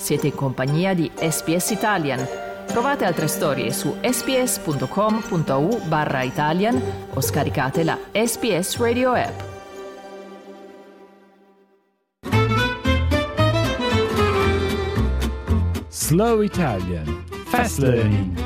Siete in compagnia di SBS Italian. Trovate altre storie su sbs.com.au/Italian o scaricate la SBS Radio app. Slow Italian. Fast Learning.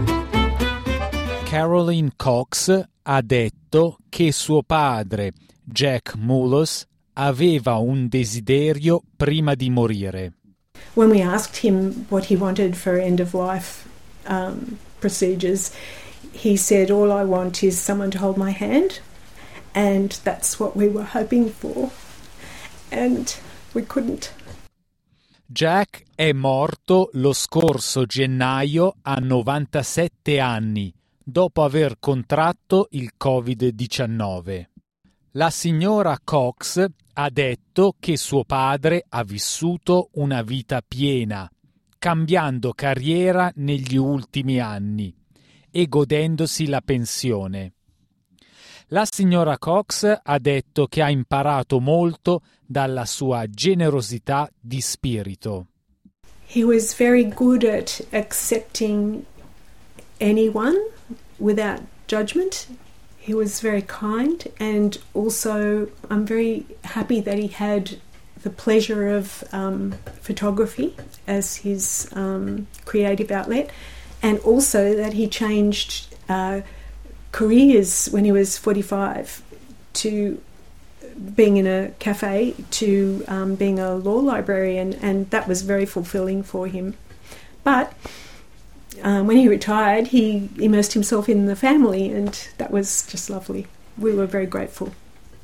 Caroline Cox ha detto che suo padre, Jack Mullis, aveva un desiderio prima di morire. When we asked him what he wanted for end-of-life procedures, he said, "All I want is someone to hold my hand," and that's what we were hoping for, and we couldn't. Jack è morto lo scorso gennaio a 97 anni, dopo aver contratto il Covid-19. La signora Cox ha detto che suo padre ha vissuto una vita piena, cambiando carriera negli ultimi anni e godendosi la pensione. La signora Cox ha detto che ha imparato molto dalla sua generosità di spirito. He was very good at accepting anyone without judgment. He was very kind, and also I'm very happy that he had the pleasure of photography as his creative outlet, and also that he changed careers when he was 45 to being in a cafe to being a law librarian, and that was very fulfilling for him. But when he retired, he immersed himself in the family, and that was just lovely. We were very grateful.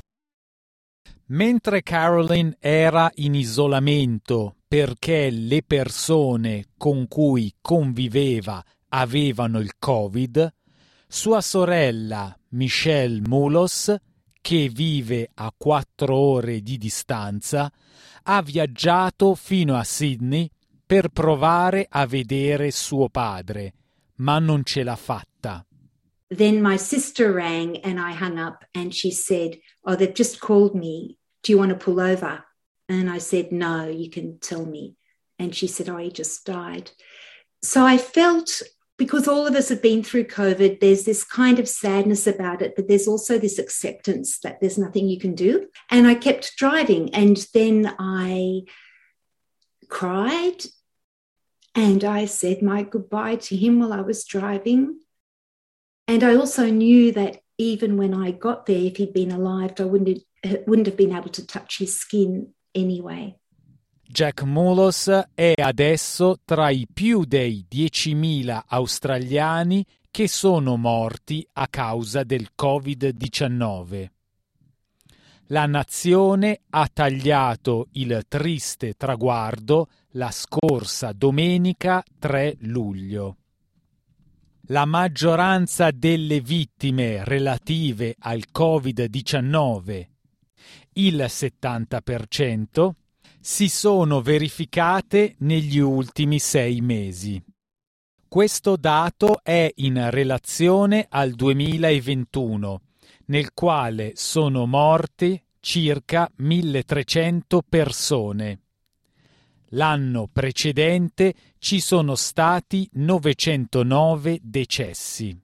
Mentre Caroline era in isolamento perché le persone con cui conviveva avevano il Covid, sua sorella Michelle Mullis, che vive a 4 ore di distanza, ha viaggiato fino a Sydney per provare a vedere suo padre, ma non ce l'ha fatta. Then my sister rang and I hung up, and she said, "Oh, they've just called me. Do you want to pull over?" And I said, "No, you can tell me." And she said, "Oh, he just died." So I felt, because all of us have been through COVID, there's this kind of sadness about it, but there's also this acceptance that there's nothing you can do. And I kept driving, and then I cried and I said my goodbye to him while I was driving. And I also knew that even when I got there, if he'd been alive, I wouldn't have been able to touch his skin anyway. Jack Mullis è adesso tra i più dei 10.000 australiani che sono morti a causa del Covid-19. La nazione ha tagliato il triste traguardo la scorsa domenica 3 luglio. La maggioranza delle vittime relative al Covid-19, il 70%, si sono verificate negli ultimi 6 mesi. Questo dato è in relazione al 2021, nel quale sono morte circa 1.300 persone. L'anno precedente ci sono stati 909 decessi.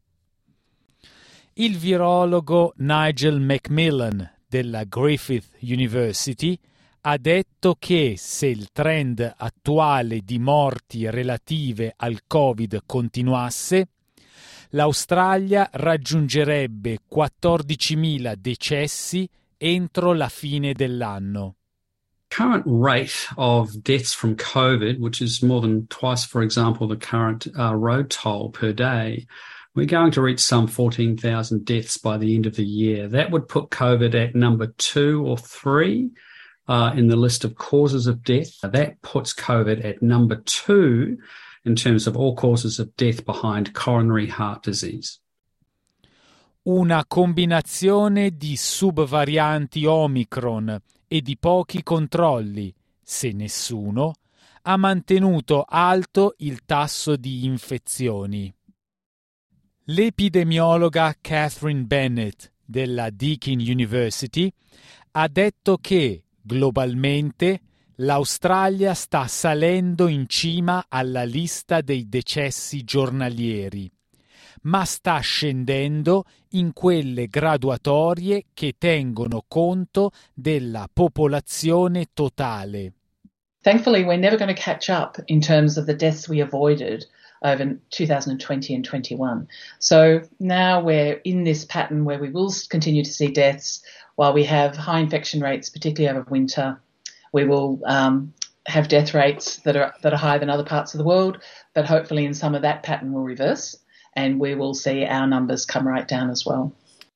Il virologo Nigel Macmillan della Griffith University ha detto che se il trend attuale di morti relative al Covid continuasse, l'Australia raggiungerebbe 14.000 decessi entro la fine dell'anno. Current rate of deaths from COVID, which is more than twice, for example, the current road toll per day, we're going to reach some 14,000 deaths by the end of the year. That would put COVID at number 2 or 3 in the list of causes of death. That puts COVID at number 2 in terms of all causes of death behind coronary heart disease. Una combinazione di subvarianti Omicron e di pochi controlli, se nessuno, ha mantenuto alto il tasso di infezioni. L'epidemiologa Catherine Bennett della Deakin University ha detto che, globalmente, l'Australia sta salendo in cima alla lista dei decessi giornalieri, ma sta scendendo in quelle graduatorie che tengono conto della popolazione totale. Thankfully, we're never going to catch up in terms of the deaths we avoided over 2020 and 21. So now we're in this pattern where we will continue to see deaths while we have high infection rates, particularly over winter. We will have death rates that are higher than other parts of the world, but hopefully in some of that pattern will reverse and we will see our numbers come right down as well.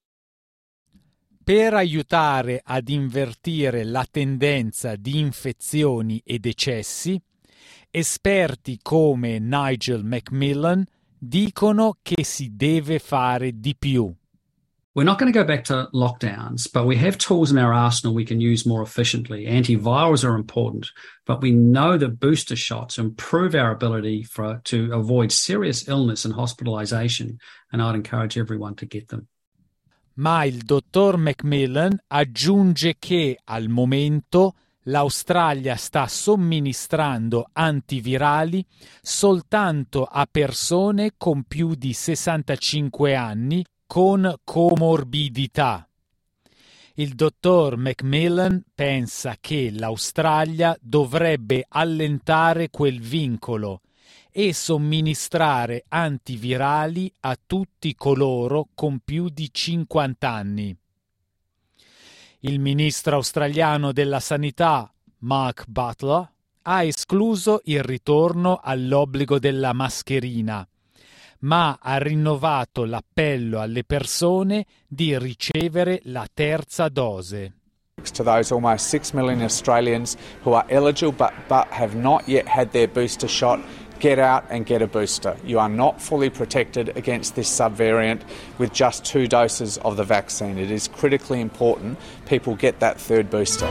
Per aiutare ad invertire la tendenza di infezioni e decessi, esperti come Nigel Macmillan dicono che si deve fare di più. We're not going to go back to lockdowns, but we have tools in our arsenal we can use more efficiently. Antivirals are important, but we know that booster shots improve our ability to avoid serious illness and hospitalization, and I'd encourage everyone to get them. Ma il dottor Macmillan aggiunge che al momento l'Australia sta somministrando antivirali soltanto a persone con più di 65 anni con comorbidità. Il dottor Macmillan pensa che l'Australia dovrebbe allentare quel vincolo e somministrare antivirali a tutti coloro con più di 50 anni. Il ministro australiano della Sanità, Mark Butler, ha escluso il ritorno all'obbligo della mascherina, ma ha rinnovato l'appello alle persone di ricevere la terza dose. To those almost 6 million Australians who are eligible but have not yet had their booster shot, get out and get a booster. You are not fully protected against this subvariant with just 2 doses of the vaccine. It is critically important people get that third booster.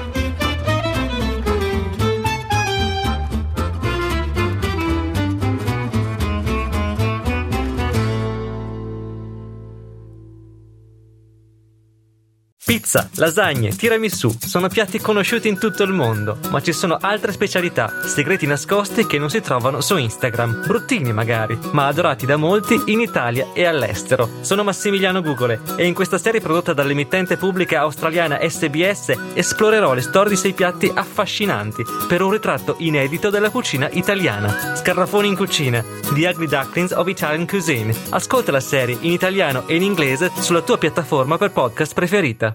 Pizza, lasagne, tiramisù sono piatti conosciuti in tutto il mondo, ma ci sono altre specialità, segreti nascosti che non si trovano su Instagram, bruttini magari, ma adorati da molti in Italia e all'estero. Sono Massimiliano Gugole e in questa serie prodotta dall'emittente pubblica australiana SBS esplorerò le storie di 6 piatti affascinanti per un ritratto inedito della cucina italiana. Scarafoni in cucina, The Ugly Ducklings of Italian Cuisine. Ascolta la serie in italiano e in inglese sulla tua piattaforma per podcast preferita.